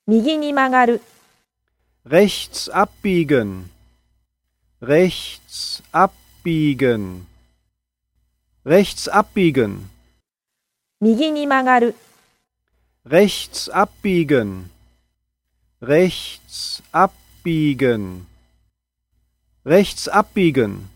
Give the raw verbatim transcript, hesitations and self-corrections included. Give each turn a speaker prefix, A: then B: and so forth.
A: 右に曲がる、
B: rechts abbiegen, rechts abbiegen, rechts abbiegen,
A: 右に曲がる、
B: rechts abbiegen, rechts abbiegen, rechts abbiegen.